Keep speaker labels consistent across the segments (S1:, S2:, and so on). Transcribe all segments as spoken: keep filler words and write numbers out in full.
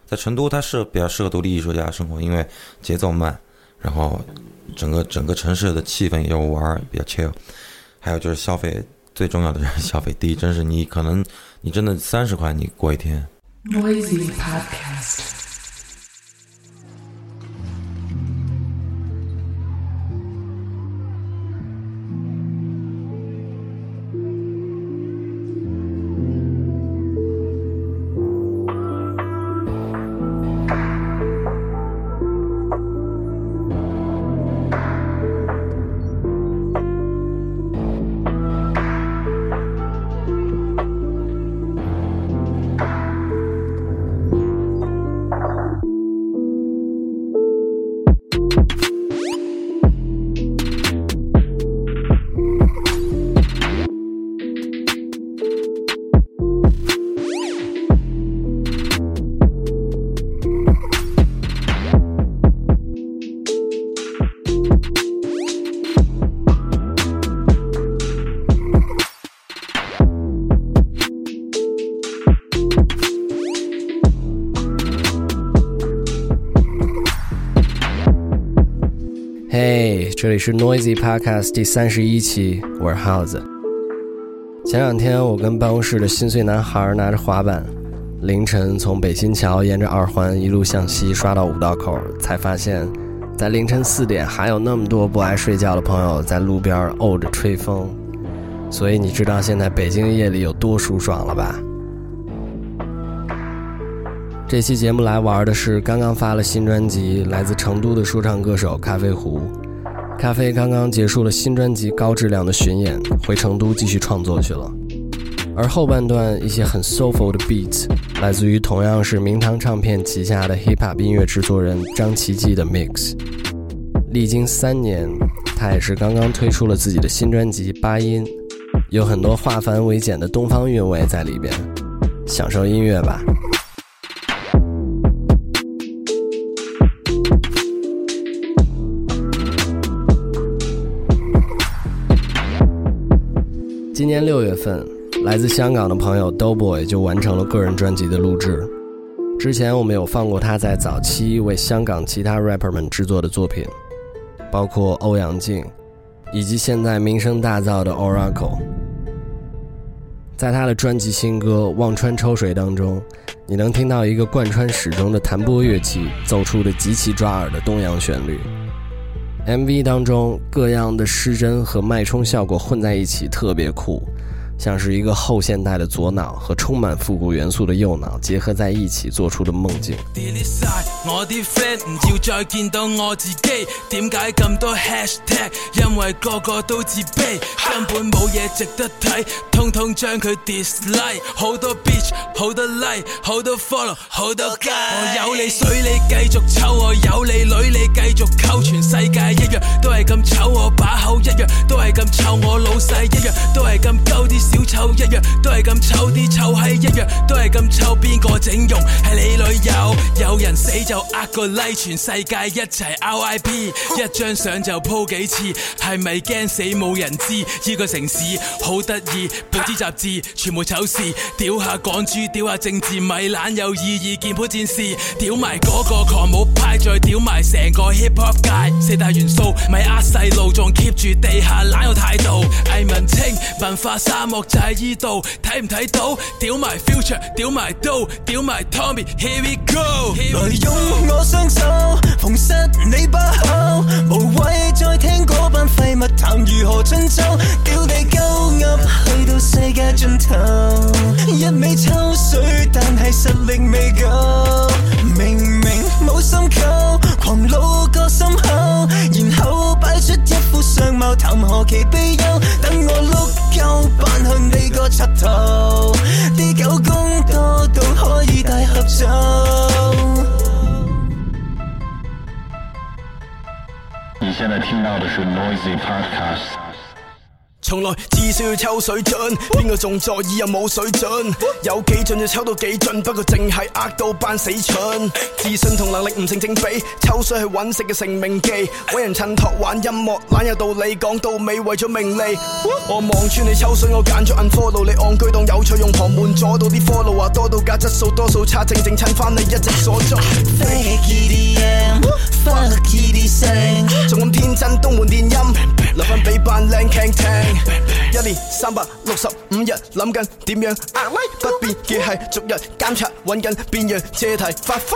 S1: 在成都它是比较适合独立艺术家生活，因为节奏慢，然后整个整个城市的气氛也有玩，比较 chill。还有就是消费，最重要的是消费低，真是你可能你真的三十块你过一天。
S2: Noisy Podcast。
S3: 嘿、hey, 这里是 Noisy Podcast 第三十一期，我是耗子。前两天我跟办公室的心碎男孩拿着滑板，凌晨从北新桥沿着二环一路向西刷到五道口，才发现在凌晨四点还有那么多不爱睡觉的朋友在路边沤着吹风。所以你知道现在北京夜里有多舒爽了吧？这期节目来玩的是刚刚发了新专辑，来自成都的说唱歌手咖啡壶。咖啡刚刚结束了新专辑高质量的巡演，回成都继续创作去了。而后半段一些很 soulful 的 beats 来自于同样是明堂唱片旗下的 hip hop 音乐制作人张奇迹的 mix。历经三年，他也是刚刚推出了自己的新专辑八音，有很多化繁为简的东方韵味在里边，享受音乐吧。今年六月份，来自香港的朋友 Doughboy 就完成了个人专辑的录制。之前我们有放过他在早期为香港其他 rapper 们制作的作品，包括欧阳靖，以及现在名声大噪的 Oracle。在他的专辑新歌《望穿秋水》当中，你能听到一个贯穿始终的弹拨乐器奏出的极其抓耳的东洋旋律。M V 当中各样的失真和脉冲效果混在一起，特别酷，像是一个後現代的左腦和充滿復古元素的右腦結合在一起做出的夢境。
S4: delete晒我啲 friend 唔要再見到我自己，點解咁多 hashtag？ 因為個個都自卑，根本冇嘢值得睇，通通將佢 dislike。好多 bitch， 好多 like， 好多 follow， 好多街。我有你水你繼續抽，我有你女你繼續溝，全世界一樣都係咁醜，我把口一樣都係咁臭，我老細一樣都係咁鳩啲。小丑一樣都係咁臭，啲臭閪一樣都係咁臭，邊個整容係你女友？有人死就呃個 like， 全世界一齊 R I P， 一張相就鋪幾次，係咪驚死冇人知？呢個城市好得意，報紙雜誌全部醜事，屌下港豬，屌下政治，咪懶有意義，鍵盤戰士，屌埋嗰個狂舞派，再屌埋成個 hip hop 界，四大元素咪呃細路，仲 keep 住地下懶有態度，藝文青文化沙漠。就喺依度睇唔睇到？屌埋 future， 屌埋刀，屌埋 Tommy，Here we go！
S5: 來用我雙手縫實你把口，無謂再聽嗰班廢物談如何春秋，屌地鳩噏去到世界盡頭，一味抽水但係實力未夠，明明冇心溝，狂怒個心口，然後擺出一副相貌，談何其悲憂，等我碌夠扮向你個柒頭，啲狗公多到可以大合奏。
S6: 你现在听到的是 Noisy Podcast。
S4: 從來只需要抽水準，邊個仲在意又冇水準？有幾盡就抽到幾盡，不過淨係呃到班死蠢。自信同能力唔成正比，抽水係揾食嘅成名技，揾人襯托玩音樂，懶有道理，講到尾為咗名利。我望穿你抽水，我揀咗 unfollow 你戇居當有趣，用旁門阻到啲 follow 話多到假質素多數差，正正襯翻你一直所做。
S5: Fake E D M，fuck E D M，
S4: 仲咁天真東門電音，留返俾班靚傾聽。一年三百六十五日諗緊點樣壓威，不變嘅係逐日監察揾緊邊樣借題發揮。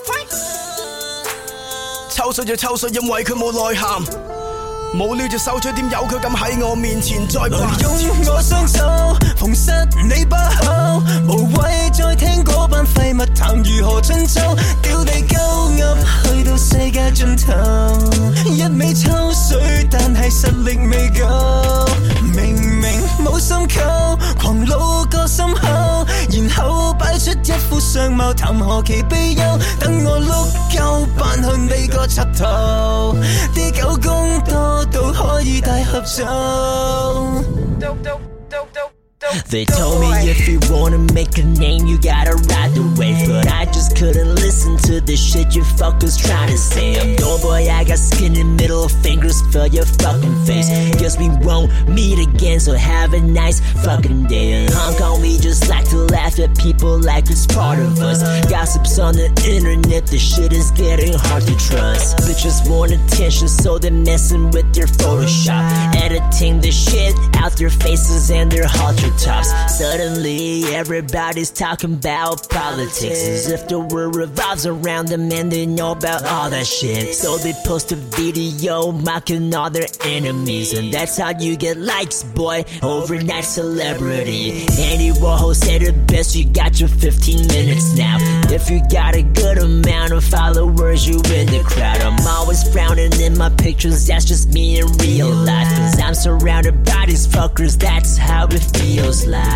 S4: 抽水就抽水，因為佢冇內涵，冇料就收取，點有佢咁喺我面前再扮。
S5: 用我雙手縫實你把口，無謂再聽嗰班廢物談如何春秋，掉地鳩噏去到世界盡頭，一味抽水但係實力未夠，明明冇心溝，狂露個心口，然後擺出一副相貌，談何其悲憂，等我碌夠扮去你個柒頭，啲狗公多到可以大合奏。They told me if you wanna make a name, you gotta ride the wave. But I just couldn't listen to the shit you fuckers trying to say. I'm no boy, I got skinny middle fingers for your fucking face. Guess we won't meet again, so have a nice fucking day. In Hong Kong, we just like to laugh at people like it's part of us. Gossips on the internet, the shit is getting hard to trust. Bitches want attention, so they're messing with their Photoshop, editing the shit out their faces and their halter tops. Suddenly everybody's talking about politics as if the world revolves around them and they know about all that shit. So they post a video mocking all their enemies, and that's how you get likes, boy. Overnight celebrity. Andy Warhol said it best, you got your fifteen minutes now. If you got a good amount of followers, you in the crowd. I'm always frowning in my pictures, that's just me in real life, cause I'm surrounded by these fuckers, that's how it feels like.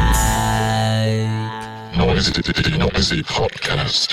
S6: Noisy, noisy podcast.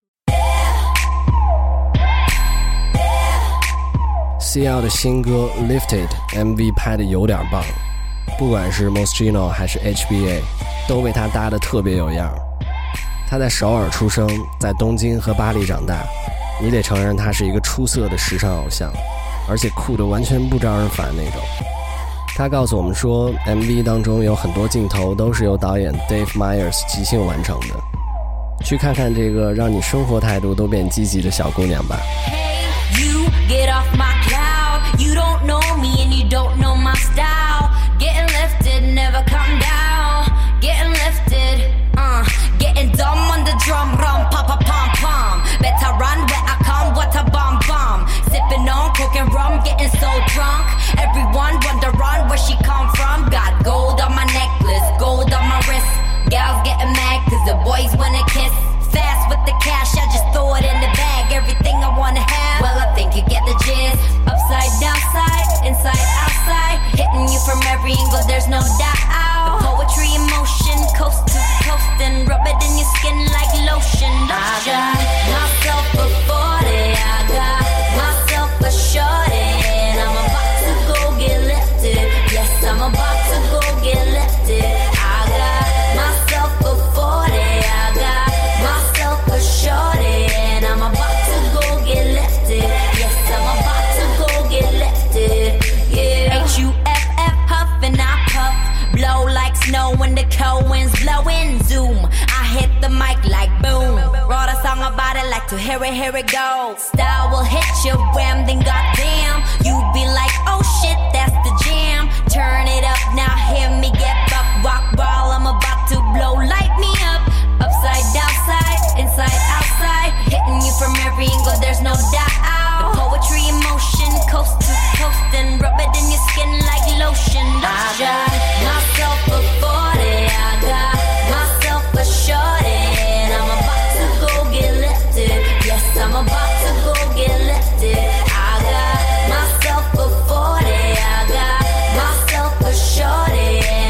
S3: C L 的新歌 Lifted M V 拍的有点棒，不管是 Moschino 还是 H B A 都被他搭得特别有样。他在首尔出生，在东京和巴黎长大，你得承认他是一个出色的时尚偶像，而且酷得完全不招人烦那种。他告诉我们说 M V 当中有很多镜头都是由导演 Dave Meyers 即兴完成的，去看看这个让你生活态度都变积极的小姑娘吧。
S7: Hey, you get off my cloud, you don't know me and you don't know my style. Getting lifted, never come down. Getting lifted, uh, getting dumb on the drum, rum, pop, pop, pom, pom. Better run where I come, what a bomb, bomb. Sipping on coke and rum, getting so drunk. Everyone wonder run where she come from. Got gold on my necklace, gold on my wrist. Gals getting mad cause the boys wanna kiss. Fast with the cash, I just throw it in the bag. Everything I wanna have, well I think you get the gist. Upside, downside, inside, outside. Hitting you from every angle, there's no doubt. The poetry in motion, coast to coast, and rub it in your skin like lotion. I got myself a forty, I got myself a shorty, and I'm about to go get lifted. Yes, I'm about to go get lifted. I got myself a forty, I got myself a shorty, and I'm about to go get lifted. Yes, I'm about to go get lifted. Yeah. H U F F, huff and I puff, blow like snow when the cold winds blowing. Zoom, I hit the mic like boom. Wrote a song about it, like to hear it, here it go. Style will hit you, wham, then goddamn, you be like, oh shit, that's the jam. Turn it up, now hear me get up, rock ball, I'm about to blow, light me up. Upside, downside, inside, outside, hitting you from every angle, there's no doubt. The poetry in motion, coast to coast, and rub it in your skin like lotion. I got myself a forty, I got myself a shorty, and I'm about to go get lifted. Yes, I'm about to go get lifted. I got myself a forty, I got myself a shorty.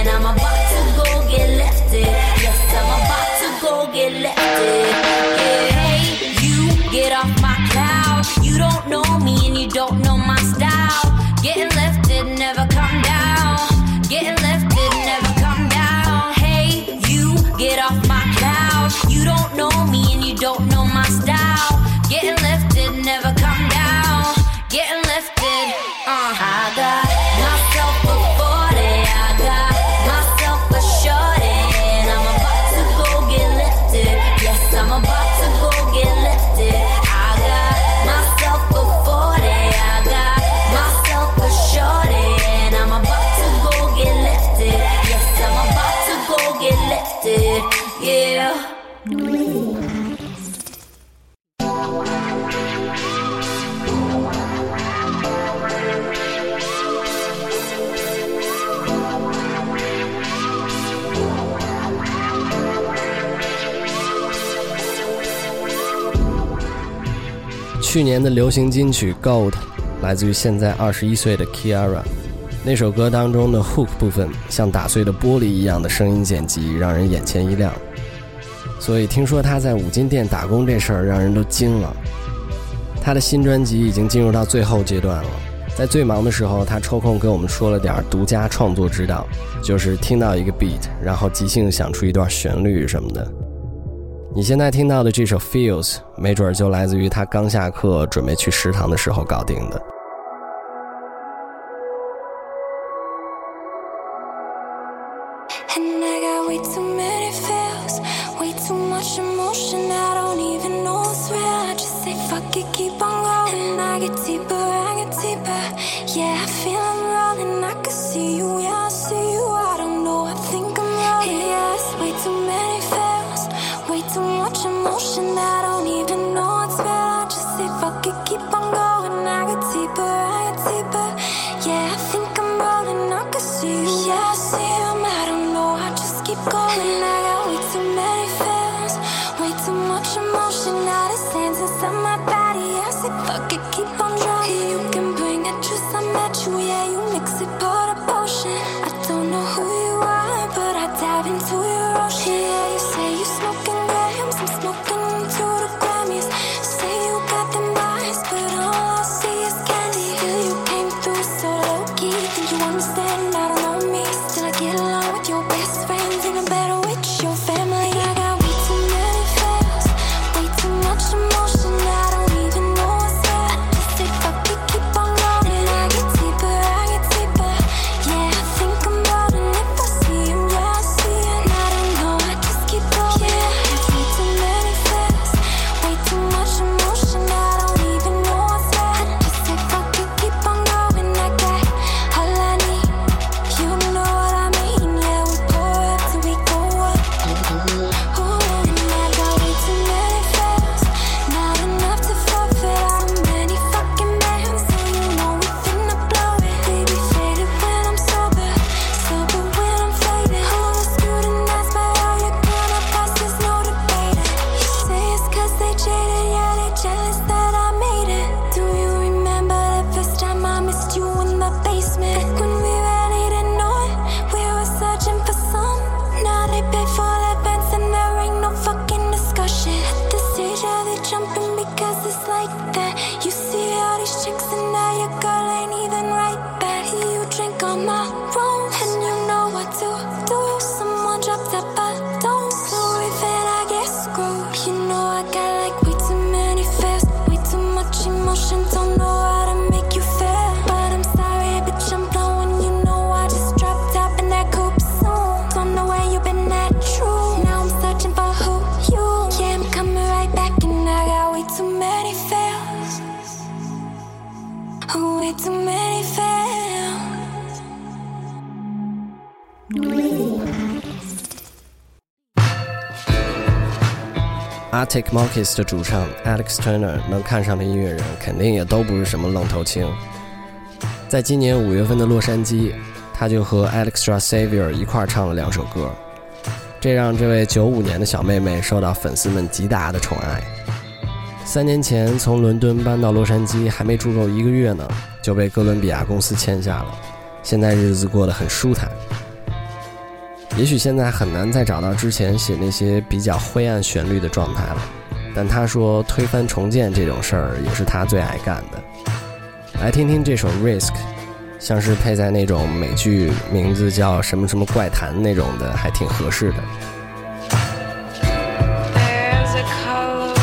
S7: don't know my style. Getting lifted, never come down. Getting lifted, uh. I got myself a forty, I got myself a shorty, and I'm about to go get lifted. Yes, I'm about to go get lifted. I got myself a forty, I got myself a shorty, and I'm about to go get lifted. Yes, I'm about to go get lifted. Yeah.
S3: 去年的流行金曲 Gold 来自于现在二十一岁的 Kiara， 那首歌当中的 hook 部分像打碎的玻璃一样的声音剪辑让人眼前一亮，所以听说他在五金店打工这事儿让人都惊了。他的新专辑已经进入到最后阶段了，在最忙的时候他抽空跟我们说了点独家创作指导，就是听到一个 beat 然后即兴想出一段旋律什么的。你现在听到的这首 Feels 没准就来自于他刚下课准备去食堂的时候搞定的。
S8: And I got way too many feels, way too much emotion, I don't even know it's real. I just say fuck it, keep on going. And I get deeper, I get deeper. Yeah, I feel I'm rolling, I can see you, yeah, I see you. I don't know, I think I'm rolling. Yeah, it's way too many feels, way too much emotion, I don't even know it's real. I just say fuck it, keep on going. I get deeper, I get deeper. Yeah, I think I'm rolling, I can see you, yeah, I see you. I don't know, I just keep going. I got way too many feels, way too much emotion. Now the sands inside my body, I say fuck it, keep on drowning. You can bring it, just I met you, yeah, you mix it, pour the potion. I don't know who you are, but I dive into your ocean. Yeah, you say you smoking grams, I'm smoking into the Grammys. Say you got them eyes, but all I see is candy. Feel you came through so low-key, think you understand, I don't know me. Still I get along with your best friends, even better with your family. I got way too many feels, way too much emotion, I don't even know what's real. I just say fuck it, keep on going. I get deeper, I get deeper. Yeah, I think I'm rolling. If I see him, yeah, I see it. I don't know, I just keep going. Yeah, it's way too many feels, way too much emotion, I don't even know what's real. I just say fuck it, keep on going. I got all I need, you know what I mean. Yeah, we pour up till we go up. Ooh, and I got way too many feels, not enough to forfeit. How many fucking bands, so you know we finna blow it. Baby faded when I'm sober, sober when I'm faded. Who was scrutinized by all your grown-up past, there's no debating. You say it's cause they jaded, yeah, they jealous that I made it. Do you remember the first time I missed you in the basement? Back when we really didn't know it, we were searching for some. Now they pay for their bands and there ain't no fucking discussion. At this stage, yeah, they jumping because it's like that. You see all these chicks and now your girl ain't even right back. You drink on my room and you know what to do. Someone dropped that bottle, so even I get screwed. You know I got like way too many feels, way too much emotion. Don't know how to make you feel, but I'm sorry, bitch, I'm blowing. You know I just dropped out in that coupe soon. Don't know where you been at, true. Now I'm searching for who you. Yeah, I'm coming right back and I got way too many feels, way too many feels.
S3: Arctic Monkeys 的主唱 Alex Turner 能看上的音乐人肯定也都不是什么愣头青。在今年五月份的洛杉矶，他就和 Alexandra Xavier 一块唱了两首歌，这让这位九五年的小妹妹受到粉丝们极大的宠爱。三年前从伦敦搬到洛杉矶，还没住够一个月呢，就被哥伦比亚公司签下了，现在日子过得很舒坦。也许现在很难再找到之前写那些比较灰暗旋律的状态了，但他说推翻重建这种事儿也是他最爱干的。来听听这首 Risk， 像是配在那种美剧名字叫什么什么怪谈那种的，还挺合适的。
S8: There's a color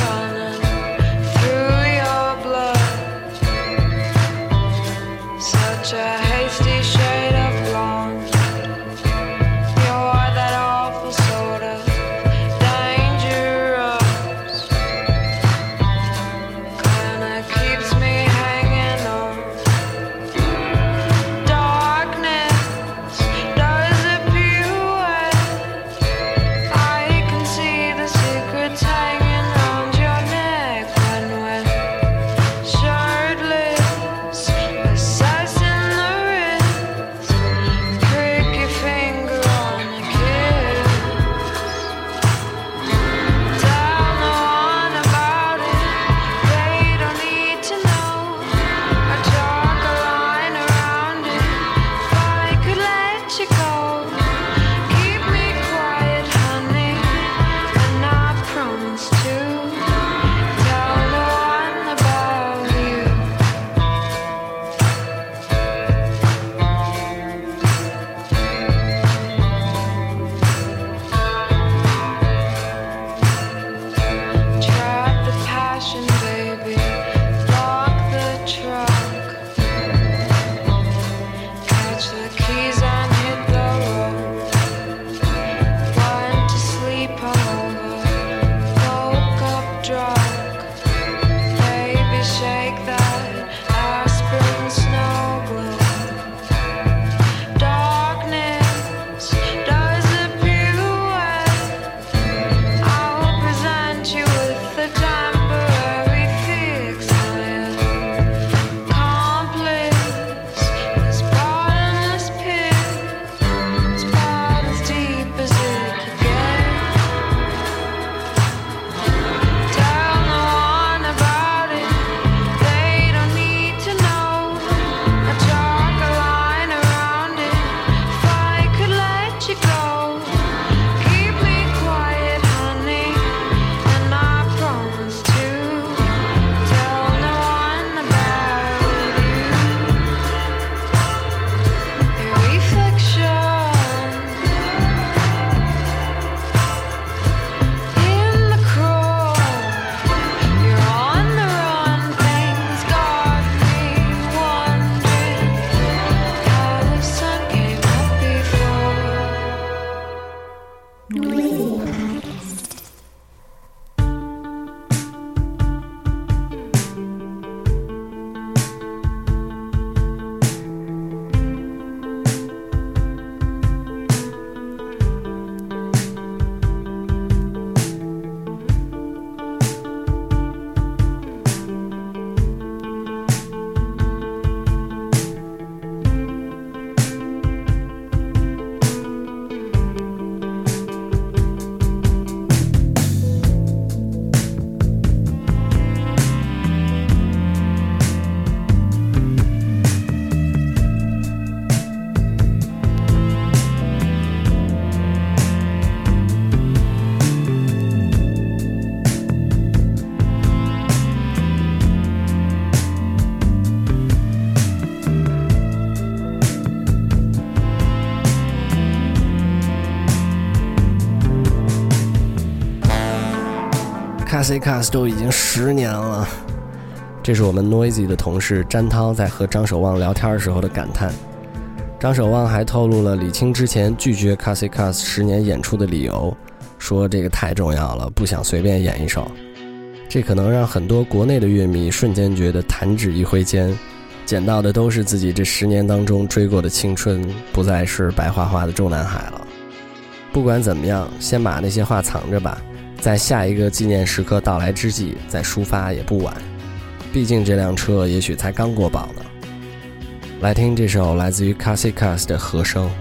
S3: Cassie Cass 都已经十年了，这是我们 Noisy 的同事詹涛在和张守望聊天时候的感叹。张守望还透露了李青之前拒绝 Cassie Cass 十年演出的理由，说这个太重要了，不想随便演一首。这可能让很多国内的乐迷瞬间觉得弹指一挥间，捡到的都是自己这十年当中追过的青春，不再是白花花的中南海了。不管怎么样，先把那些话藏着吧，在下一个纪念时刻到来之际再抒发也不晚，毕竟这辆车也许才刚过保呢。来听这首来自于 Cassie Cass 的和声。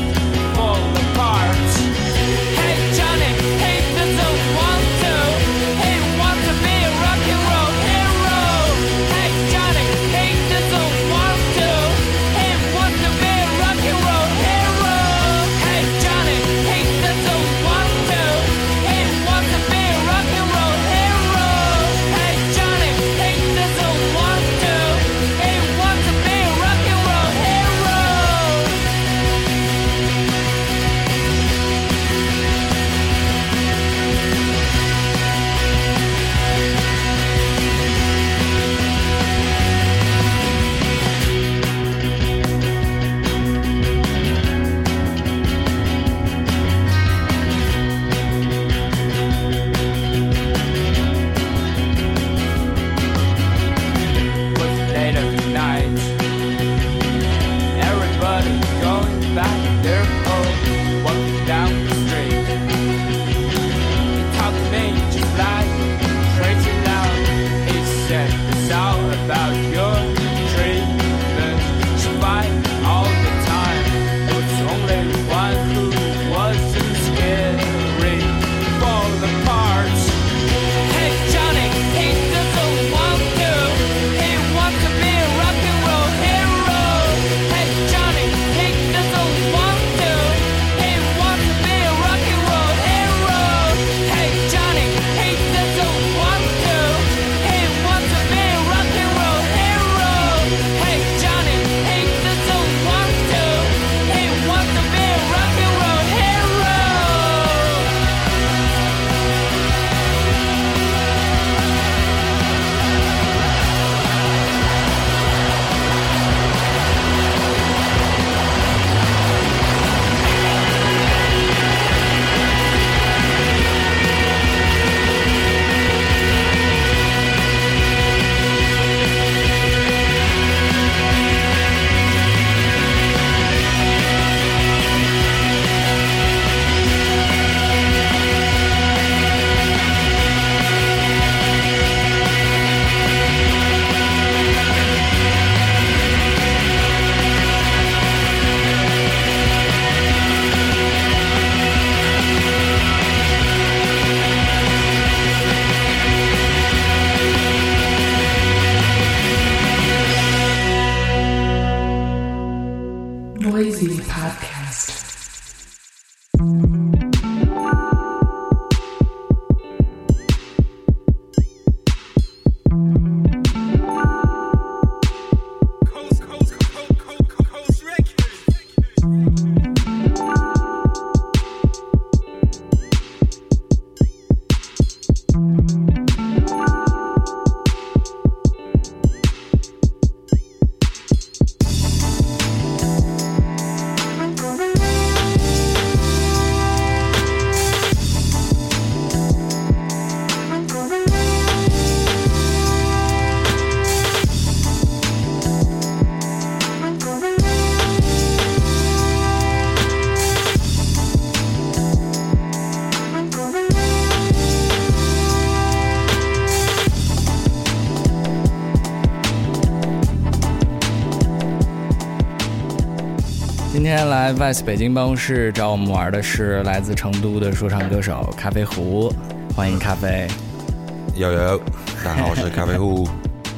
S9: Hey Johnny, he doesn't want to
S2: Noisy Podcast.
S3: 今天来 Vice 北京办公室找我们玩的是来自成都的说唱歌手咖啡壶，欢迎咖啡。
S1: 有有，大家好，我是咖啡壶。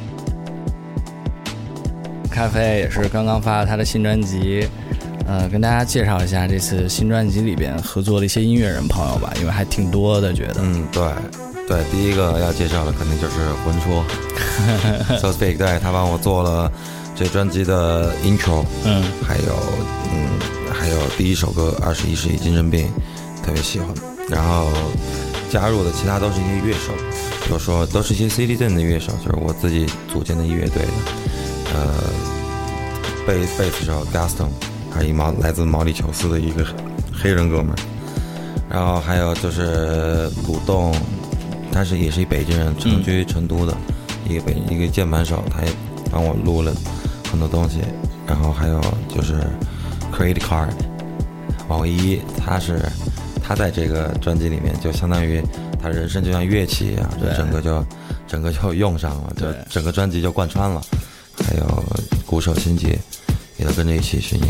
S3: 咖啡也是刚刚发了他的新专辑，呃，跟大家介绍一下这次新专辑里边合作的一些音乐人朋友吧，因为还挺多的，觉得。
S1: 嗯，对，对，第一个要介绍的肯定就是魂戳，So Speak， 对他帮我做了这专辑的 intro，
S3: 嗯，
S1: 还有嗯，还有第一首歌《二十一世纪精神病》，特别喜欢。然后加入的其他都是一些乐手，比如说都是一些 C D 阵的乐手，就是我自己组建的乐队的。呃，贝贝斯手 Gaston， 还有一毛来自毛里求斯的一个黑人哥们儿。然后还有就是鲁栋，他是也是一北京人，成居成都的、嗯、一个北一个键盘手，他也帮我录了很多东西。然后还有就是 Create Card 王唯一，他是他在这个专辑里面就相当于他人生就像乐器一样，就整个就整个就用上了，就整个专辑就贯穿了。还有鼓手辛杰也都跟着一起巡演。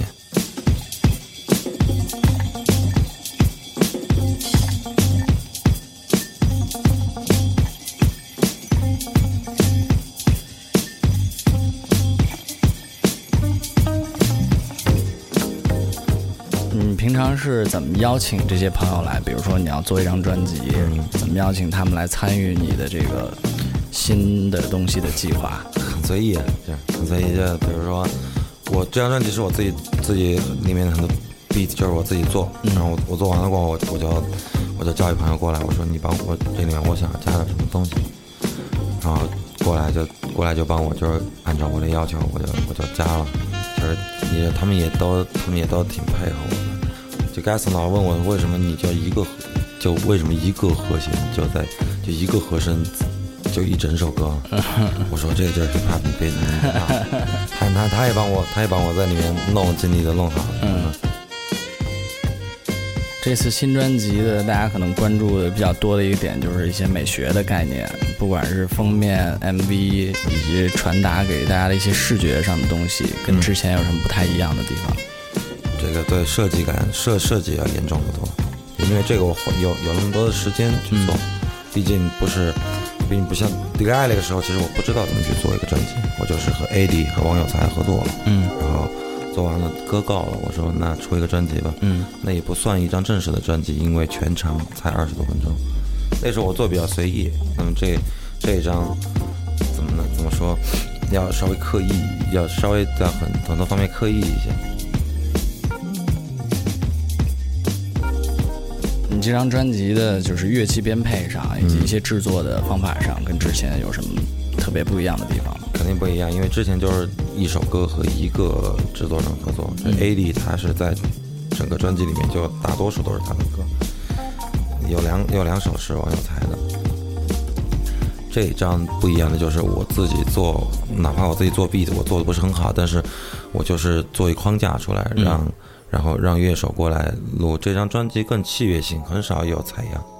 S3: 你平常是怎么邀请这些朋友来？比如说你要做一张专辑、嗯、怎么邀请他们来参与你的这个新的东西的计划？
S1: 很随意，对，很随意。就比如说，我这张专辑是我自己自己里面的很多 beat 就是我自己做，嗯、然后我我做完了过后，我我就我就叫一朋友过来，我说你帮我这里面我想加点什么东西，然后过来就过来就帮我，就是按照我的要求，我就我就加了，就是也他们也都他们也都挺配合我的。就 Gaston 老问我为什么你就一个就为什么一个和弦就在就一个和声。就一整首歌，我说这个就是 hip hop， 你别你别怕，他他他也帮我，他也帮我在里面弄，尽力的弄好。嗯，
S3: 这次新专辑的大家可能关注的比较多的一个点就是一些美学的概念，不管是封面、M V 以及传达给大家的一些视觉上的东西，跟之前有什么不太一样的地方？
S1: 嗯、这个对设计感设设计要严重得多，因为这个我有有那么多的时间去做，嗯、毕竟不是。并不像 D I 那个时候，其实我不知道怎么去做一个专辑，我就是和 A D 和王有才合作了，嗯，然后做完了歌告了，我说那出一个专辑吧，嗯，那也不算一张正式的专辑，因为全长才二十多分钟，那时候我做比较随意，那么这这一张怎么呢？怎么说？要稍微刻意，要稍微在很很多方面刻意一些。
S3: 你这张专辑的就是乐器编配上以及一些制作的方法上跟之前有什么特别不一样的地方吗？
S1: 肯定不一样，因为之前就是一首歌和一个制作人合作，嗯、A D 他是在整个专辑里面就大多数都是他的歌，有两有两首是王有才的。这一张不一样的就是我自己做，哪怕我自己做 beat 我做的不是很好，但是我就是做一框架出来，让、嗯、然后让乐手过来录，这张专辑更器乐性，很少有采样。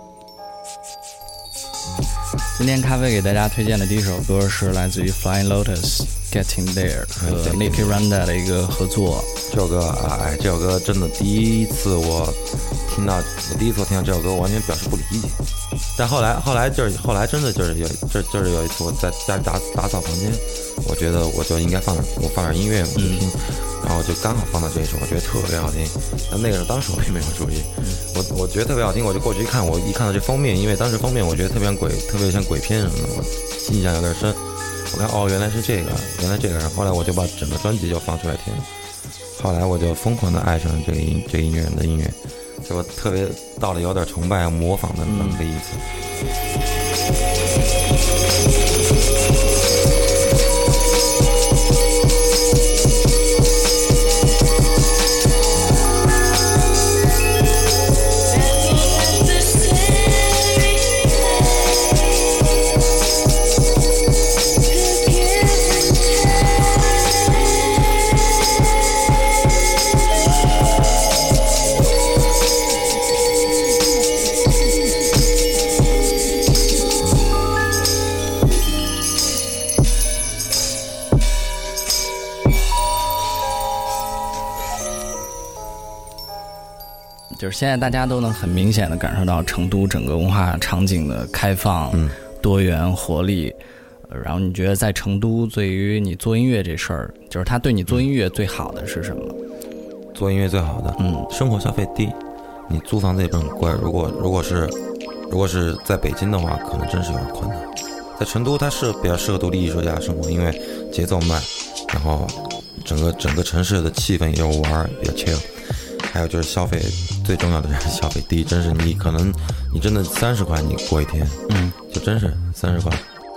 S3: 今天咖啡给大家推荐的第一首歌是来自于 Flying Lotus Getting There 和 Nicky Randa 的一个合作。
S1: 这首歌啊，哎，这首歌真的第一次我听到，我第一次听到这首歌，我完全表示不理解。但后来，后来就是后来真的就是有，这就是有一次我在家打打扫房间，我觉得我就应该放点，我放点音乐我就听，嗯、然后后就刚好放到这一首，我觉得特别好听。但那个时候当时我并没有注意，我我觉得特别好听，我就过去一看，我一看到这封面，因为当时封面我觉得特别像鬼，特别像鬼片什么的，我印象有点深。我看哦，原来是这个，原来这个，然后后来我就把整个专辑就放出来听。后来我就疯狂的爱上这个音这个音乐人的音乐，就我特别到了有点崇拜模仿的那么个意思。
S3: 就是现在大家都能很明显的感受到成都整个文化场景的开放、嗯、多元活力。然后你觉得在成都对于你做音乐这事儿，就是他对你做音乐最好的是什么？
S1: 做音乐最好的，嗯，生活消费低，你租房子也不很贵。如果如果是如果是在北京的话，可能真是有点困难。在成都，它是比较适合独立艺术家生活，因为节奏慢，然后整个整个城市的气氛也有玩，比较 chill。还有就是消费，最重要的是消费低，真是你可能你真的三十块你过一天，嗯，就真是三十块。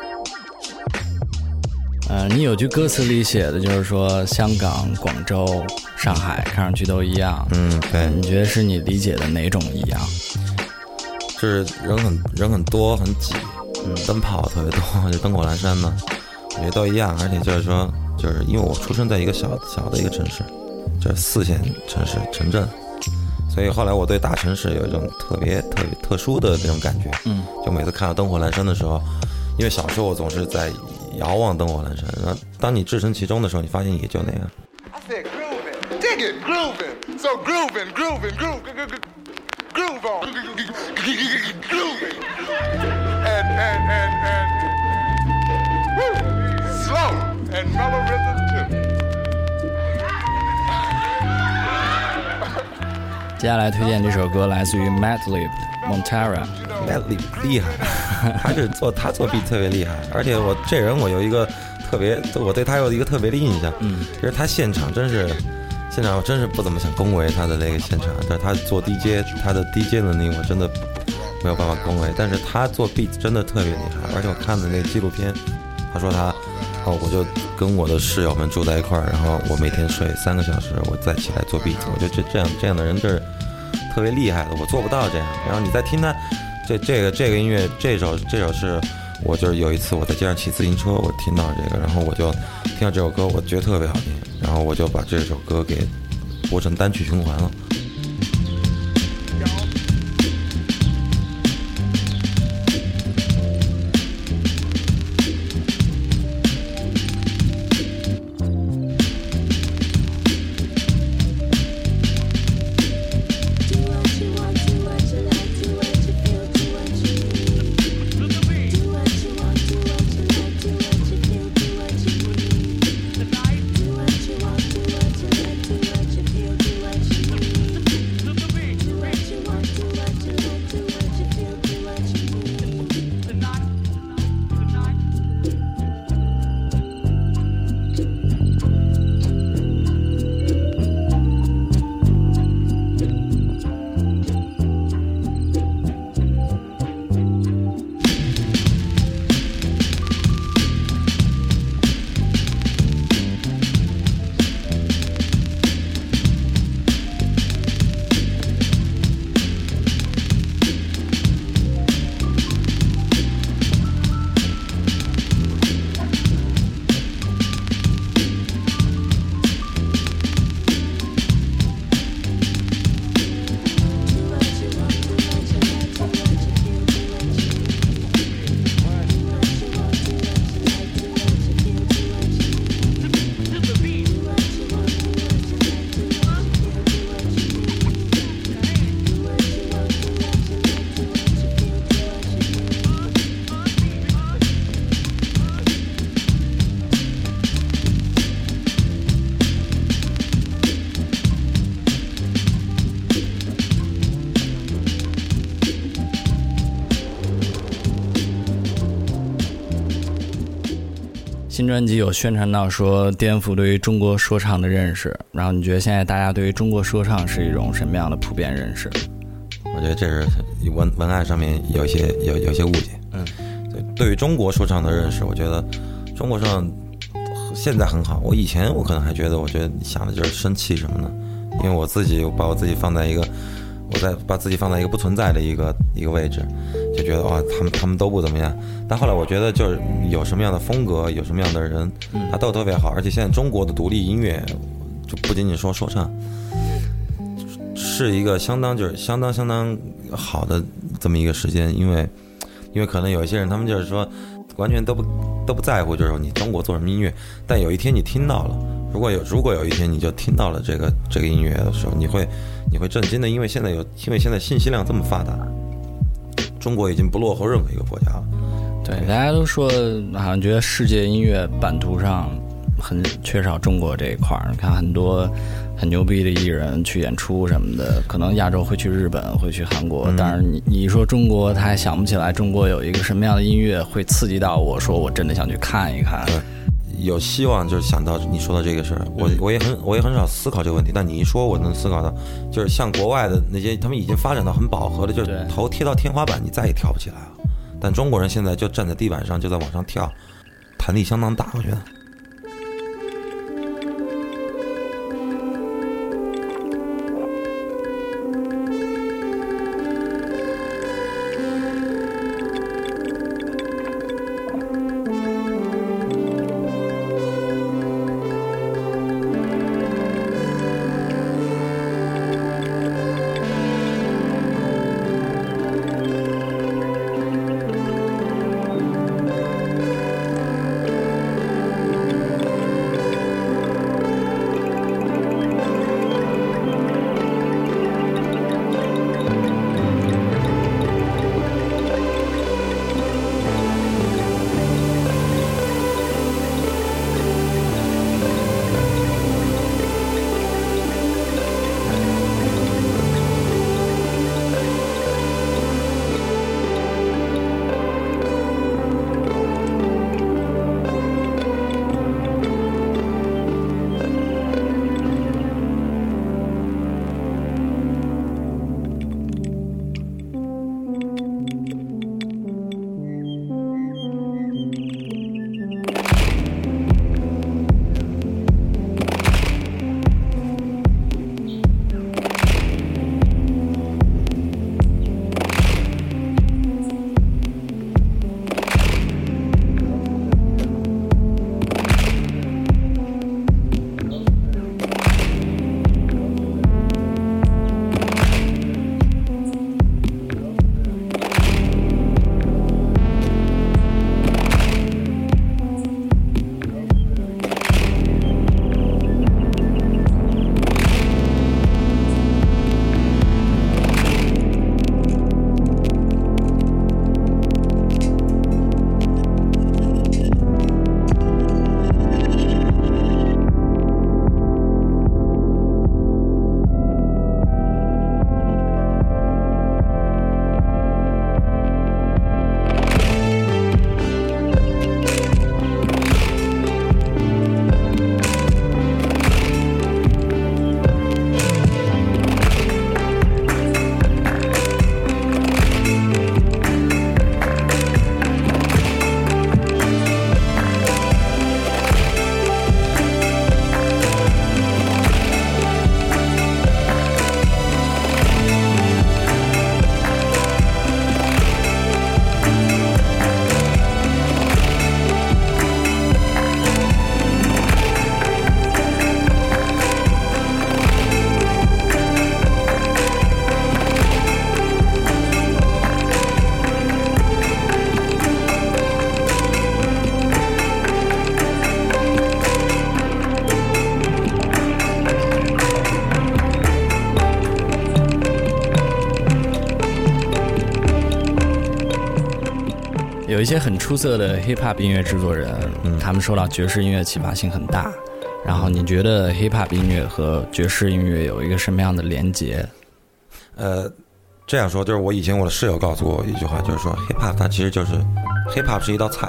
S3: 呃，你有句歌词里写的就是说香港、广州、上海看上去都一样，
S1: 嗯，对。
S3: 你觉得是你理解的哪种一样？
S1: 就是人很人很多很挤，嗯，灯泡特别多，就灯火阑珊嘛，我觉得都一样。而且就是说，就是因为我出生在一个小小的一个城市。就是四线城市城镇，所以后来我对大城市有一种特别特别特殊的那种感觉。嗯，就每次看到灯火阑珊的时候，因为小时候我总是在遥望灯火阑珊，然后当你置身其中的时候，你发现也就那样。I said grooving, dig it, grooving, so grooving, grooving, grooving, groove on, grooving, and and and and woo, slow and mellow rhythm too.
S3: 接下来推荐这首歌来自于 Madlib Montara。
S1: Madlib 厉害，他是做他做 beat 特别厉害，而且我这人我有一个特别，我对他有一个特别的印象，嗯，就是他现场真是现场我真是不怎么想恭维他的那个现场，但是他做 D J 他的 D J 能力我真的没有办法恭维，但是他做 beat 真的特别厉害，而且我看的那个纪录片，他说他哦，我就跟我的室友们住在一块儿，然后我每天睡三个小时，我再起来做 beat， 我觉得这这样这样的人就是特别厉害的，我做不到这样。然后你再听他这这个这个音乐，这首这首是我就是有一次我在街上骑自行车，我听到这个，然后我就听到这首歌，我觉得特别好听，然后我就把这首歌给播成单曲循环了。
S3: 新专辑有宣传到说颠覆对于中国说唱的认识，然后你觉得现在大家对于中国说唱是一种什么样的普遍认识？
S1: 我觉得这是文文案上面有一些有有一些误解。
S3: 嗯，
S1: 对于中国说唱的认识，我觉得中国说唱现在很好。我以前我可能还觉得，我觉得想的就是生气什么的，因为我自己把我自己放在一个，我在把自己放在一个不存在的一个一个位置，就觉得哇，他们他们都不怎么样。但后来我觉得，就是有什么样的风格，有什么样的人，他都特别好。而且现在中国的独立音乐，就不仅仅说说唱，是一个相当就是相当相当好的这么一个时间，因为因为可能有一些人他们就是说完全都不都不在乎，就是说你中国做什么音乐，但有一天你听到了，如果有如果有一天你就听到了这个这个音乐的时候，你会你会震惊的，因为现在有因为现在信息量这么发达，中国已经不落后任何一个国家了。
S3: 对，大家都说好像觉得世界音乐版图上很缺少中国这一块儿。你看很多很牛逼的艺人去演出什么的，可能亚洲会去日本，会去韩国，嗯、但是你你说中国，他还想不起来中国有一个什么样的音乐会刺激到我，说我真的想去看一看。
S1: 对，有希望就是想到你说的这个事儿，我我也很我也很少思考这个问题，但你一说，我能思考到，就是像国外的那些，他们已经发展到很饱和的，就是头贴到天花板，你再也跳不起来了。但中国人现在就站在地板上，就在往上跳，弹力相当大，我觉得。
S3: 有一些很出色的 hip hop 音乐制作人，嗯，他们受到爵士音乐启发性很大。然后你觉得 hip hop 音乐和爵士音乐有一个什么样的连结？
S1: 呃，这样说就是我以前我的室友告诉我一句话，就是说 hip hop 它其实就是 hip hop 是一道菜，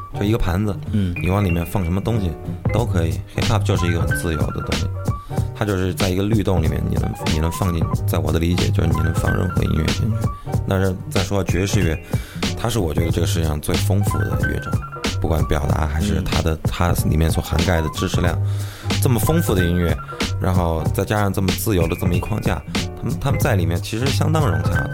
S1: 就一个盘子，
S3: 嗯，
S1: 你往里面放什么东西都可以。hip hop 就是一个很自由的东西，它就是在一个律动里面，你能你能放进，在我的理解就是你能放任何音乐进去。但是再说爵士乐，它是我觉得这个世界上最丰富的乐种，不管表达还是它的它里面所涵盖的知识量，这么丰富的音乐，然后再加上这么自由的这么一框架，他们他们在里面其实相当融洽的。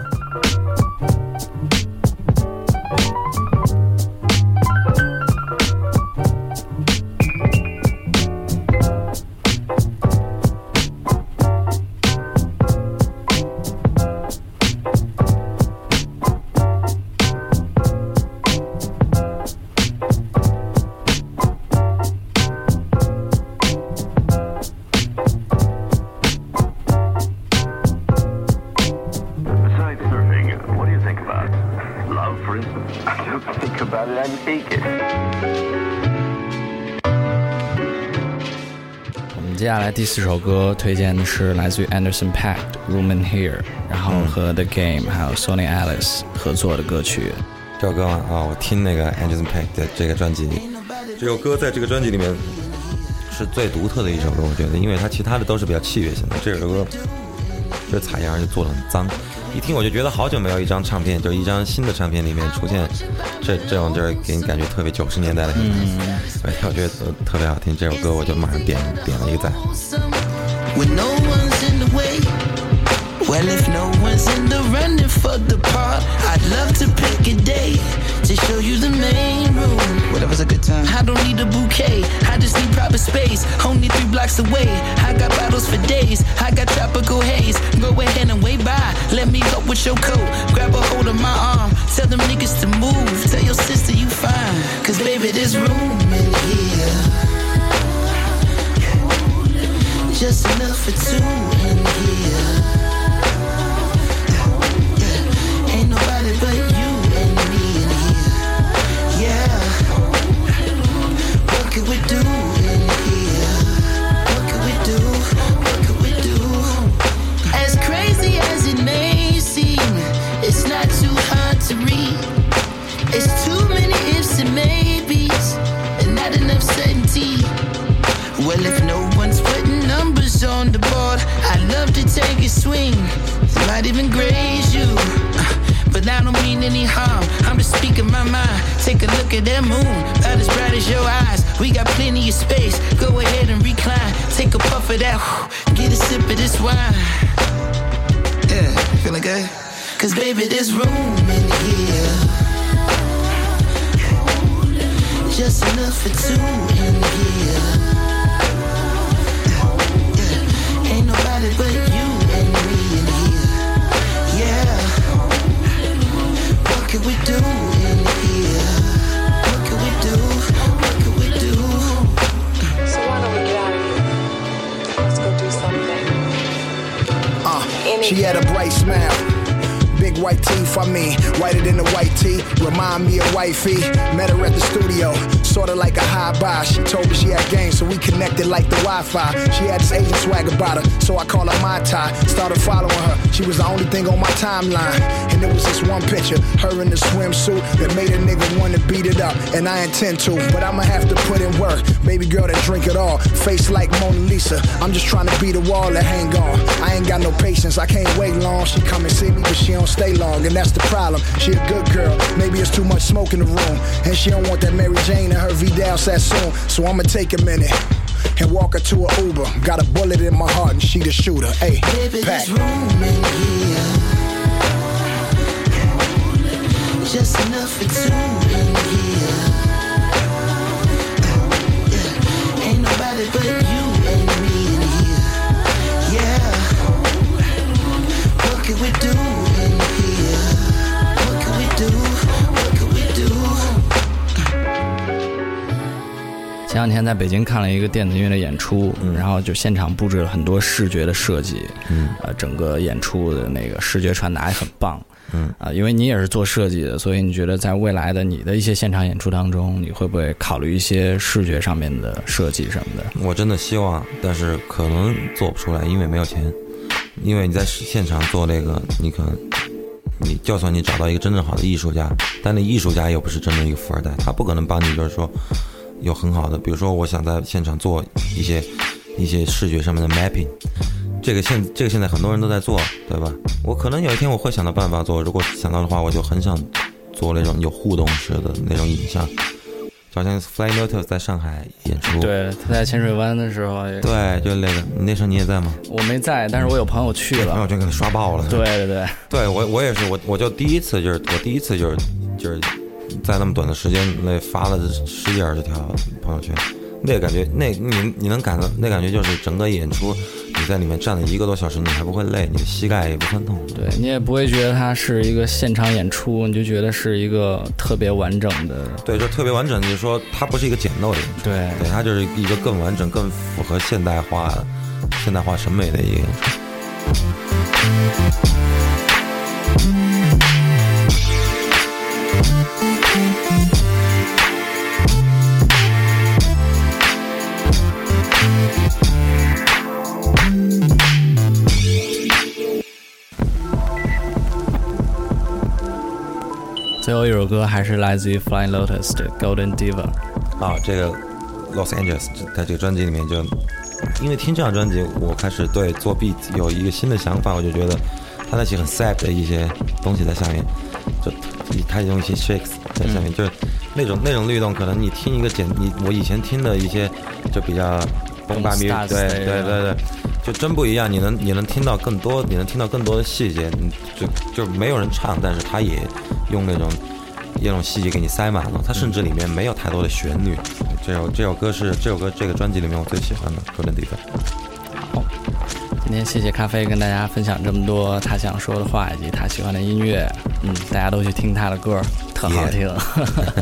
S3: 接下来第四首歌推荐的是来自于 Anderson .Paak 的 Room in Here， 然后和 The Game 还有 Sonny Alice 合作的歌曲。
S1: 这首歌啊、哦，我听那个 Anderson .Paak 的这个专辑，这首歌在这个专辑里面是最独特的一首歌，我觉得，因为它其他的都是比较器乐性的，这首歌这采样就做得很脏，一听我就觉得好久没有一张唱片，就一张新的唱片里面出现这这种就是给你感觉特别九十年代的，嗯，我觉得特别好听，这首歌我就马上点点了一个赞。
S5: When no one's in the way, well if no one's in the running for the part, I'd love to pick a day to show you the main room. Whatever's a good time. I don't need a bouquet, I just need proper space. Only three blocks away, I got bottles for days. I got tropical haze, go ahead and wave by. Let me help with your coat, grab a hold of my arm. Tell them niggas to move, tell your sister you fine. Cause baby there's room in here, just enough for two in here. Yeah. Ain't nobody but you and me in here. Yeah. What could we do in here? What could we do? What could we do? As crazy as it may seem, it's not too hard to read. It's too many ifs and maybes, and not enough certainty. Well, if no one's putting numbers on the board, I'd love to take a swing, might even graze you, but I don't mean any harm, I'm just speaking my mind. Take a look at that moon, about as bright as your eyes. We got plenty of space, go ahead and recline. Take a puff of that, get a sip of this wine. Yeah, feeling good? Cause baby there's room in here, just enough for two in here. Nobody but you and me in here. Yeah. What could we do in here? What could we do? What could we do?
S2: So why don't we get out of here? Let's go do something.
S9: Uh, she had a bright smile, big white teeth, I mean, whiter than the white tee. Remind me of wifey. Met her at the studio, sorta like a high buy. She told me she had game, so we connected like the Wi-Fi. She had this Asian swag about her, so I called her my tie. Started following her, she was the only thing on my timeline. And there was this one picture, her in the swimsuit, that made a nigga wanna beat it up. And I intend to, but I'ma have to put in work. Baby girl that drink it all, face like Mona Lisa. I'm just trying to beat a wall that hang on. I ain't got no patience, I can't wait long. She come and see me, but she don't stay long, and that's the problem. She a good girl, maybe it's too much smoke in the room, and she don't want that Mary Jane and her Vidal Sassoon. So I'ma take a minute and walk her to a Uber. Got a bullet in my heart and she the shooter. Hey,
S5: baby,
S9: Pack.
S5: There's room in here, just enough for two in here. Yeah. Ain't nobody but you and me in here. Yeah. What could we do in here? What could we do? What could we do?
S3: 前两天在北京看了一个电子音乐的演出，
S1: 嗯、
S3: 然后就现场布置了很多视觉的设计，
S1: 嗯，
S3: 呃，整个演出的那个视觉传达也很棒，
S1: 嗯
S3: 啊、呃，因为你也是做设计的，所以你觉得在未来的你的一些现场演出当中，你会不会考虑一些视觉上面的设计什么的？
S1: 我真的希望，但是可能做不出来，因为没有钱。因为你在现场做那个，你可能你就算你找到一个真正好的艺术家，但那艺术家又不是真正一个富二代，他不可能帮你就是说有很好的，比如说我想在现场做一些一些视觉上面的 mapping， 这个现这个现在很多人都在做，对吧？我可能有一天我会想到办法做，如果想到的话，我就很想做那种有互动式的那种影像。好像 Flying Lotus 在上海演出，
S3: 对，他在浅水湾的时候也，
S1: 对，就那个，那时候你也在吗？
S3: 我没在，但是我有朋友去了，
S1: 朋友圈给他刷爆了。
S3: 对对对，
S1: 对我我也是，我我就第一次就是我第一次就是就是在那么短的时间内发了十几二十条朋友圈，那个感觉，那你你能感到那感觉就是整个演出你在里面站了一个多小时，你还不会累，你的膝盖也不酸痛，
S3: 对你也不会觉得它是一个现场演出，你就觉得是一个特别完整的，
S1: 对，就特别完整，就是说它不是一个简陋的演出，
S3: 对
S1: 对，它就是一个更完整、更符合现代化、现代化审美的一个演出。
S3: 最后一首歌还是来自于 Flying Lotus 的 Golden Diva。
S1: 啊，这个 Los Angeles 在这个专辑里面就，因为听这张专辑，我开始对做 beat 有一个新的想法，我就觉得他那些很 sad 的一些东西在下面，就他用一些 shakes 在下面，嗯、就是那种那种律动，可能你听一个简你我以前听的一些就比较崩巴咪，对对对对。就真不一样，你能你能听到更多，你能听到更多的细节，你就就没有人唱，但是他也用那种那种细节给你塞满了，他甚至里面没有太多的旋律。这首这首歌是这首歌这个专辑里面我最喜欢的 Golden Diva。
S3: 好，今天谢谢咖啡跟大家分享这么多他想说的话以及他喜欢的音乐，嗯，大家都去听他的歌，特好听。Yeah.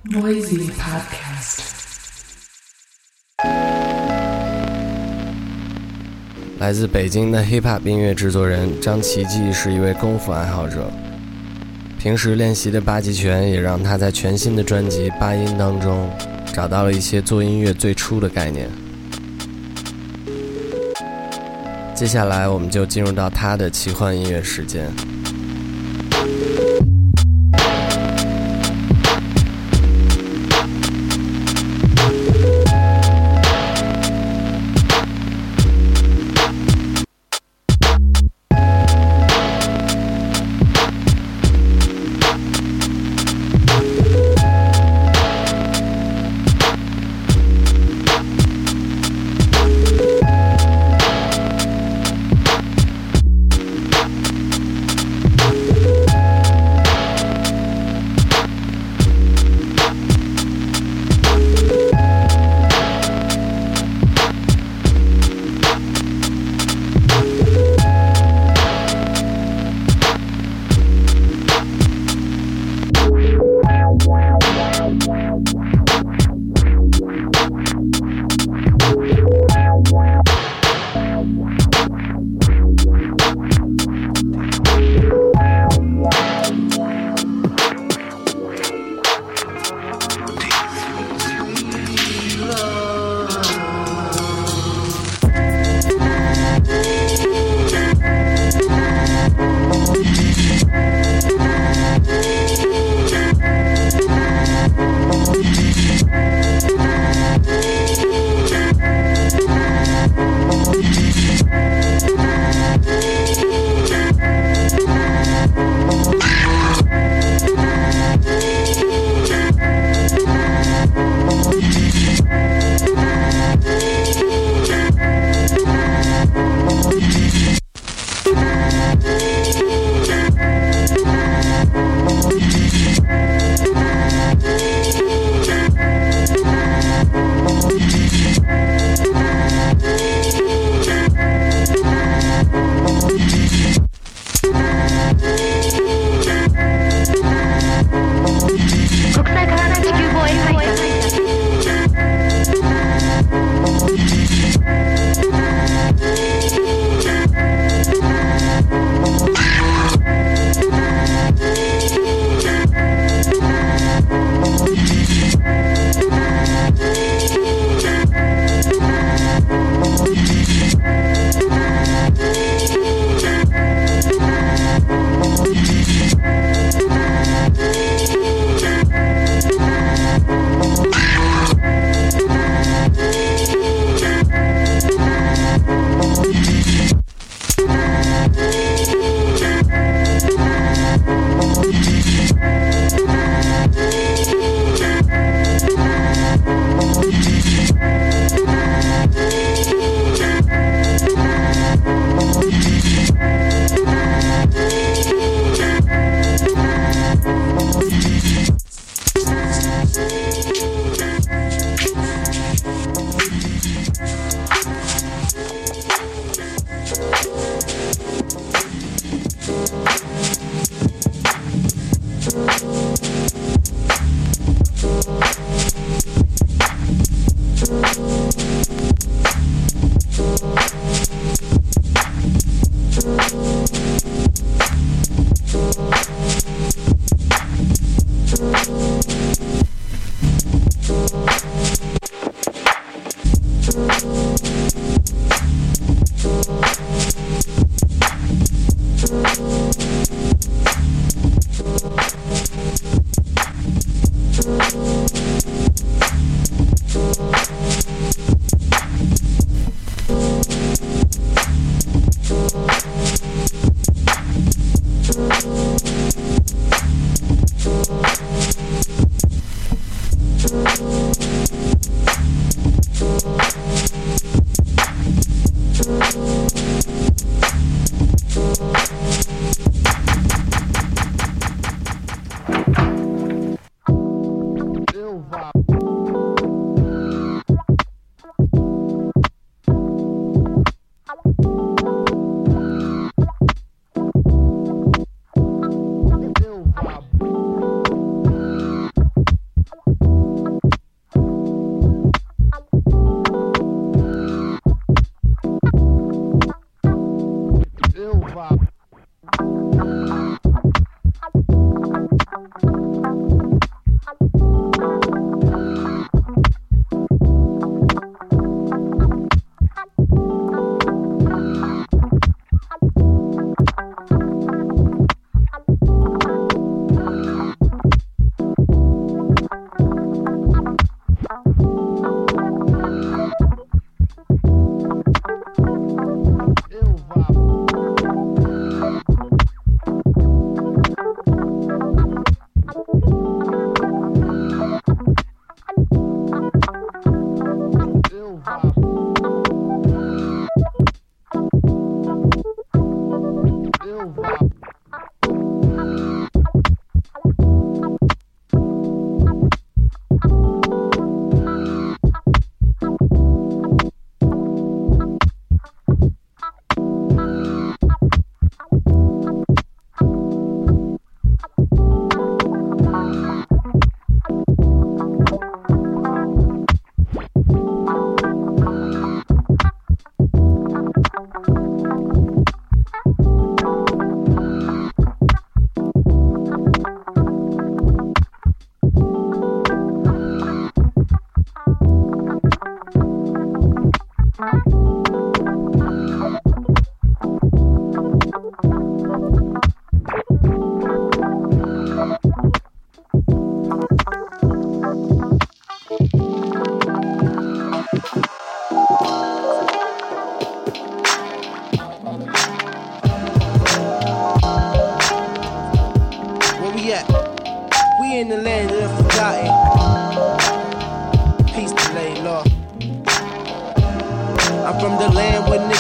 S10: Noisy Podcast。
S3: 来自北京的 hiphop 音乐制作人张奇迹是一位功夫爱好者，平时练习的八极拳也让他在全新的专辑《八音》当中找到了一些做音乐最初的概念。接下来我们就进入到他的奇幻音乐时间。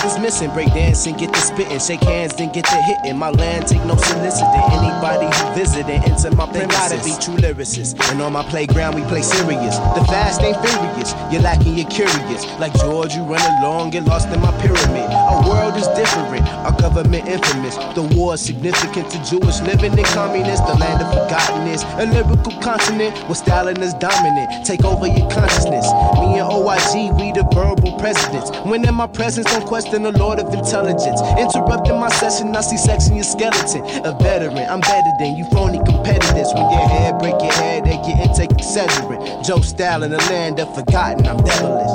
S11: is missing. Break dancing, get the spitting. Shake hands, then get the hitting. My land take no soliciting. Anybody who visiting into my premises, they gotta be true lyricists. And on my playground, we play serious. The fast ain't furious. You're lacking, you're curious. Like George, you run along, get lost in my pyramid. Our world is different, our government infamous. The war is significant to Jewish living in communist. The land of forgottenness, a lyrical continent where Stalin is dominant. Take over your consciousness. Me and O I G, we the verbal presidents. When in my presence, don't question the Lord of intelligence. Interrupting my session, I see sex in your skeleton. A veteran, I'm better than you phony competitors. When your head break your head, they get intake exaggerate. Joe Style in the land of forgotten, I'm devilish.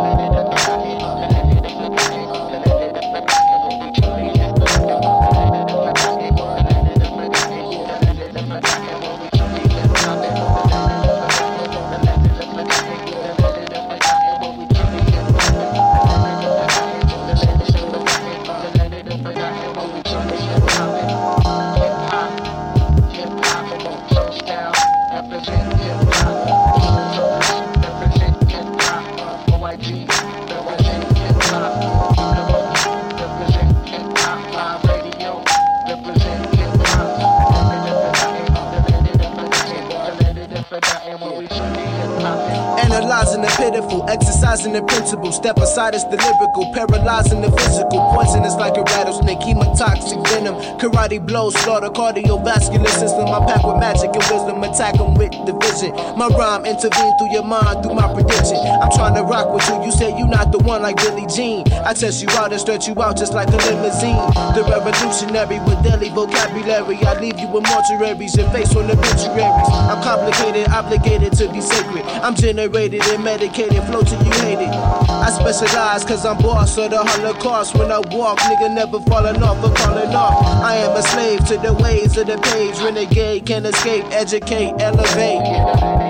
S11: Analyzing the pitiful, exercising the principle. Step aside, it's the lyrical, paralyzing the physical. Poisonous like a rattlesnake, hemotoxic venom. Karate blows, slaughter cardiovascular system. I pack with magic and wisdom, attack them with division. My rhyme intervene through your mind, through my prediction. I'm trying to rock with you, you say you not the one like Billie Jean. I test you out and stretch you out just like a limousine. The revolutionary with daily vocabulary. I leave you in mortuaries, your face on obituaries. I'm complicated, obligated to be sacred. I'm generated and medicated, flow till you hate it. I specialize cause I'm boss of the Holocaust. When I walk, nigga never falling off or calling off. I am a slave to the ways of the page. Renegade, can't escape, educate, elevate.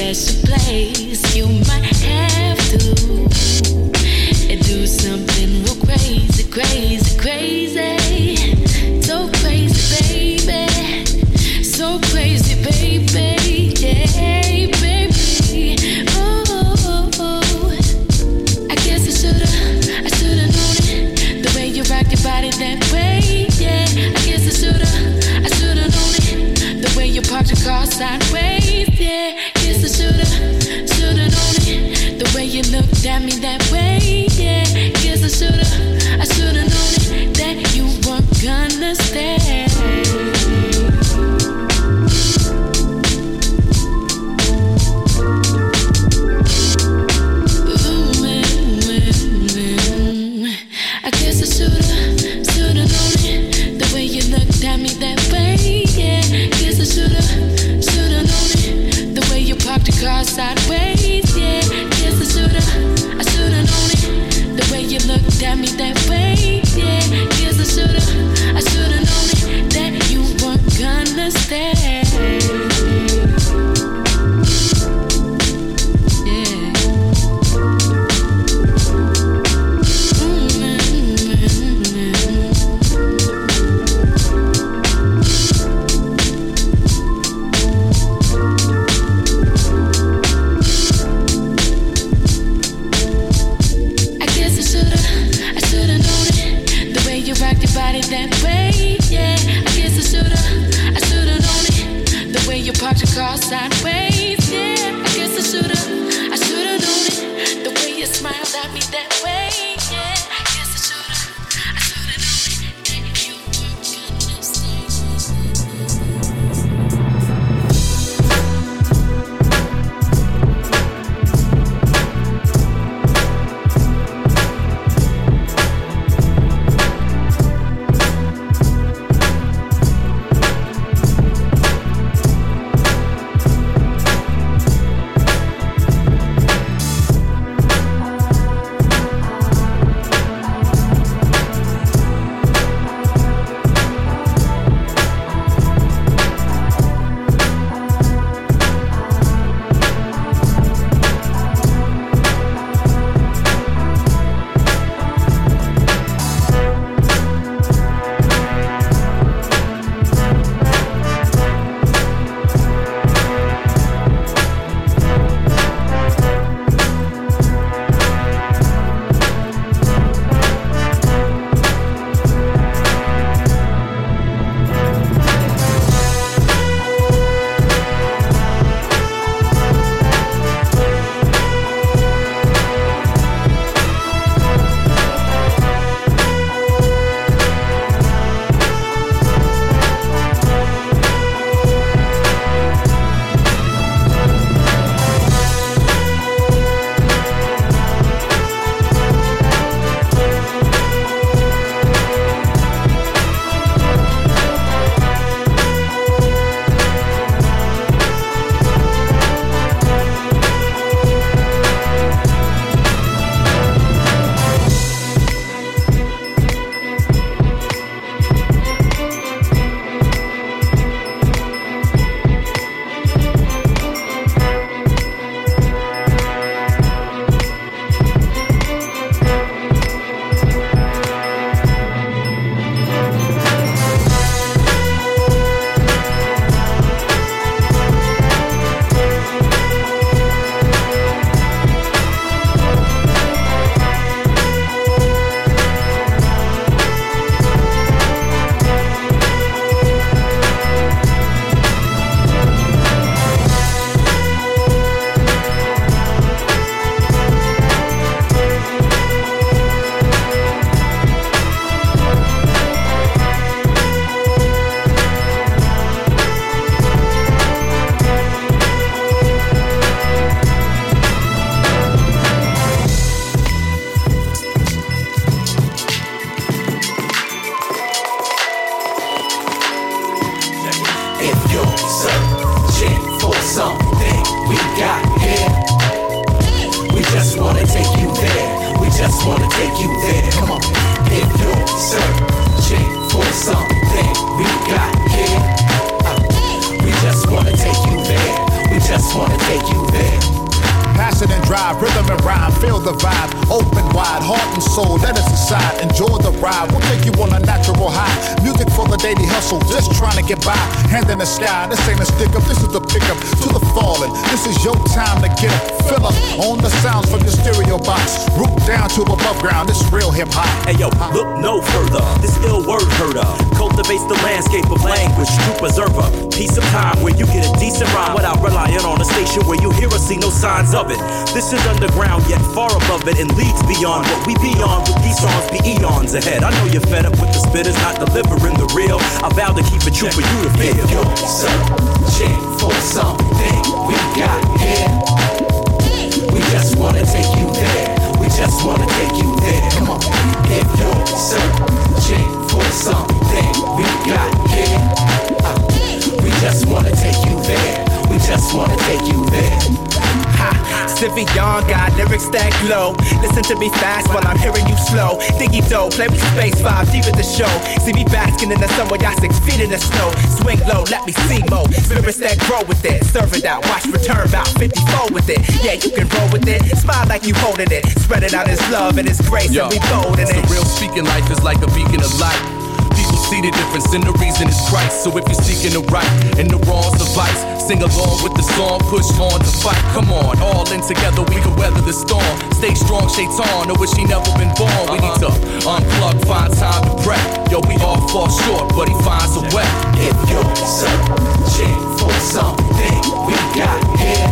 S12: special place. You might have to do something real crazy, crazy, crazy. So crazy, baby. So crazy, baby. Yeah, baby. Oh, oh, oh. I guess I should've, I should've known it. The way you rock your body that way. Yeah, I guess I should've, I should've known it. The way you parked your car sideways. Yeah, guess I should've, should've known it. The way you looked at me that way. Yeah, guess I should've, I should've known it. That you weren't gonna stay. Ooh, mm, mm, mm. I guess I should've, should've known it. The way you looked at me that way. Yeah, guess I should've, should've known it. The way you parked your car sideways. Yeah, guess I should've, I should've known it. The way you looked at me that way.
S13: the vibe, open wide, heart and soul, let us aside. Enjoy the ride, we'll take you on a natural high. Music for the daily hustle, just trying to get by. Hand in the sky, this ain't a stick up, this is the pickup to the fallen. This is your time to get up. Fill up on the sounds from your stereo box. Root down to above ground, this real hip hop.
S14: Hey yo, look no further. This ill word herder cultivates the landscape of language, true preserver. Piece of time where you get a decent rhyme without relying on a station where you hear or see no signs of it. This is underground yet far above it and leads beyond what we beyond. With these songs be eons ahead. I know you're fed up with the spitters not delivering the real. I vow to keep it true for you to feel.
S15: If you're searching for something we got here, we just wanna take you there. We just wanna take you there. Come on. If you're searching for something we got here, uh, we just wanna take you there. We just wanna take you there.
S16: Ha, Sivion got lyrics that glow. Listen to me fast while I'm hearing you slow. Diggy dough, play with space five deep at the show. See me basking in the sun while y'all six feet in the snow. Swing low, let me see mo. Spirits that grow with it. Serve it out, watch return about fifty-four with it. Yeah, you can roll with it. Smile like you holding it. Spread it out as love and as grace.
S17: Yo,
S16: and we bold in it.
S17: The real speaking life is like a beacon of light. People see the difference and the reason is Christ. So if you're seeking the right and the wrongs of vice, sing along with the song, push on to fight. Come on, all in together we can weather the storm. Stay strong, Shaitan, or wish he never been born. We need to unplug, find time to pray. Yo, we all fall short, but he finds a way.
S15: If you're searching for something we got here,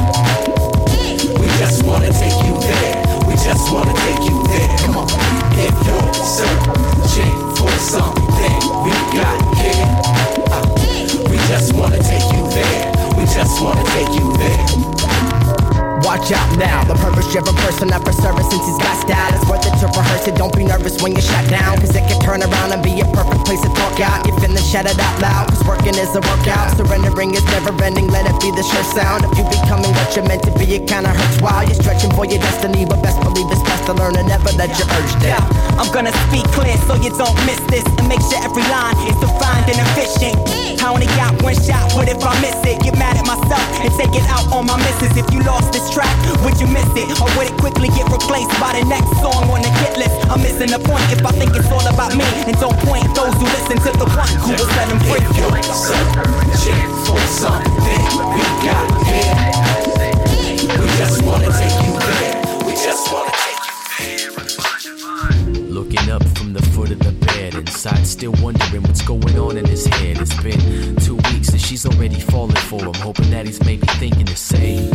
S15: we just wanna take you there. We just wanna take you there. Come on. If you're searching for something we got here, uh, we just wanna take you there. We just wanna take you there.
S18: Watch out now, the purpose-driven person up for service since he's got style. It's worth it to rehearse it, don't be nervous when you're shut down, cause it can turn around and be a perfect place to talk out. You're feeling shout it out loud, cause working is a workout. Surrendering is never ending, let it be the sure sound. If you becoming what you're meant to be, it kinda hurts while you're stretching for your destiny, but best believe it's best to learn and never let your urge down.
S19: Yeah, I'm gonna speak clear so you don't miss this, and make sure every line is defined and efficient. I only got one shot, what if I miss it? Get mad at myself and take it out on my missus. If you lost this track, would you miss it? Or would it quickly get replaced by the next song on the hit list? I'm missing the point if I think it's all about me, and don't point those who listen to the one who will set them free.
S15: If you're searching for something we got here, we just wanna take you there. We just wanna take you there.
S4: Looking up from the foot of the bed, inside still wondering what's going on in his head. It's been two weeks and she's already falling for him, hoping that he's maybe thinking the same.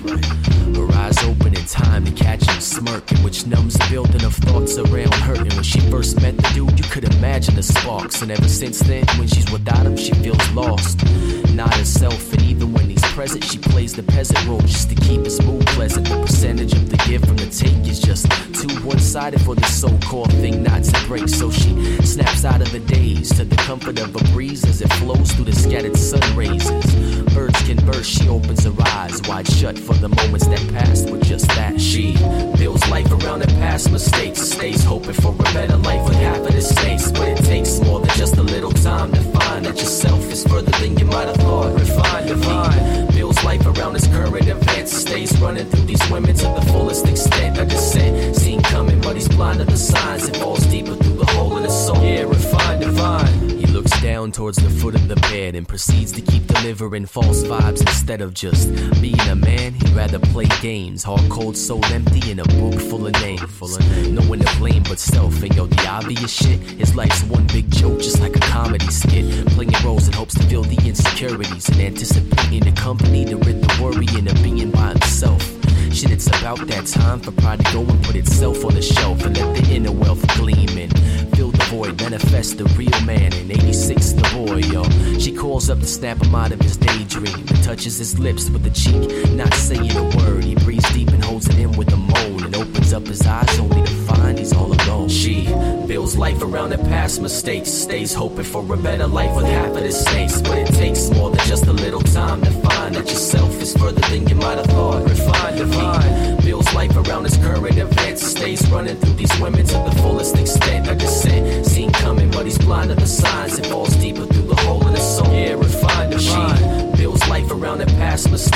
S4: Her eyes open in time to catch him smirking, which numbs the building of thoughts around hurting. When she first met the dude, you could imagine the sparks, and ever since then, when she's without him, she feels lost, not herself. And even when he's present, she plays the peasant role just to keep his mood pleasant. The percentage of the give from the take is just too one-sided for this so-called thing not to break. So she snaps out of the daze to the comfort of a breeze as it flows through the scattered sun rays. Birds can burst, she opens her eyes wide shut for the moments that passed with just that. She builds life around her past mistakes, stays hoping for a better life with half of the stakes. But it takes more than just a little time to find that yourself is further than you might have thought. Refine, divine, builds life around his current events, stays running through these women to the fullest extent. A descent seen coming, but he's blind to the signs. It falls deeper through the hole in his soul. Yeah, refine, divine. He looks down towards the foot of the bed and proceeds to keep delivering false vibes instead of just being a man. He'd rather play games, heart cold, soul empty, in a book full of names. Full of names. No one to blame but self. And yo, the obvious shit, his life's one big joke, just like a comedy skit. Playing roles in hopes to feel the insecurities and anticipating the company to rid the worry and of being by himself. Shit, it's about that time for pride to go and put itself on the shelf and let the inner wealth gleam in. Fill the void, manifest the real man. In eighty-six, the boy, yo. She calls up to snap him out of his daydream and touches his lips with a cheek, not saying a word. He breathes deep and holds it in with a moan and opens up his eyes only to find he's all alone. She builds life around her past mistakes, stays hoping for a better life with half of the stakes. But it takes more than just a little time to find that yourself is further than you might have thought. Refine, divine, builds life around his current events, stays running through these women to the fullest extent. A descent seen coming, but he's blind to the signs. It falls deeper through the hole in his soul. Yeah, refine, divine, builds life around her past mistakes, stays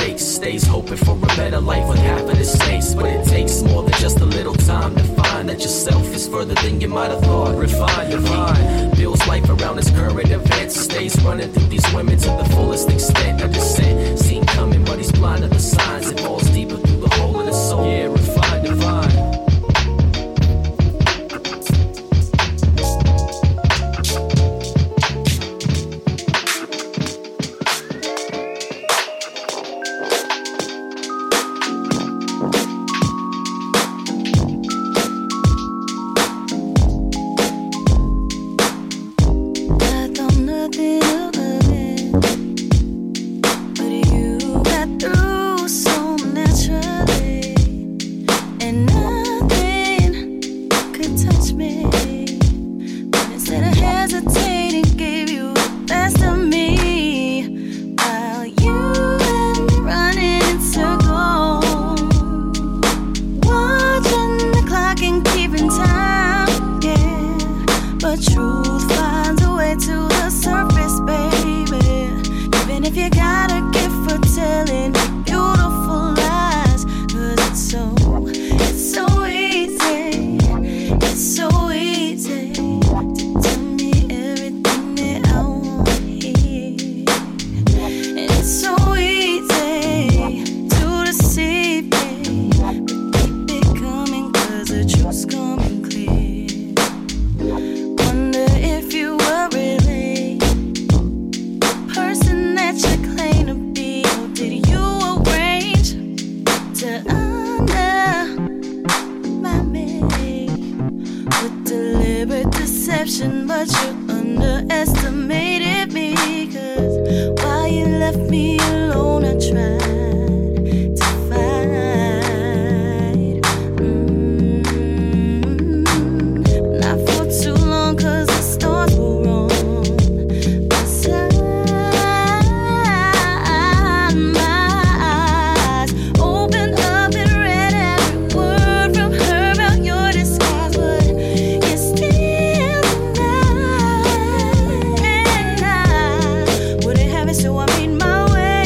S20: days hoping for a better life with half of the states. But it takes more than just a little time to find that yourself is further than you might have thought. Refine, divine, builds life around his current events. Stays running through these women to the fullest extent. A descent, seen coming, but he's blind to the signs. It falls deeper through the hole in his soul. Yeah, refine, divine.
S21: So I made my way.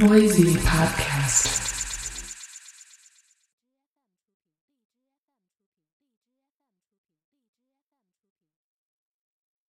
S10: Noisy Podcast.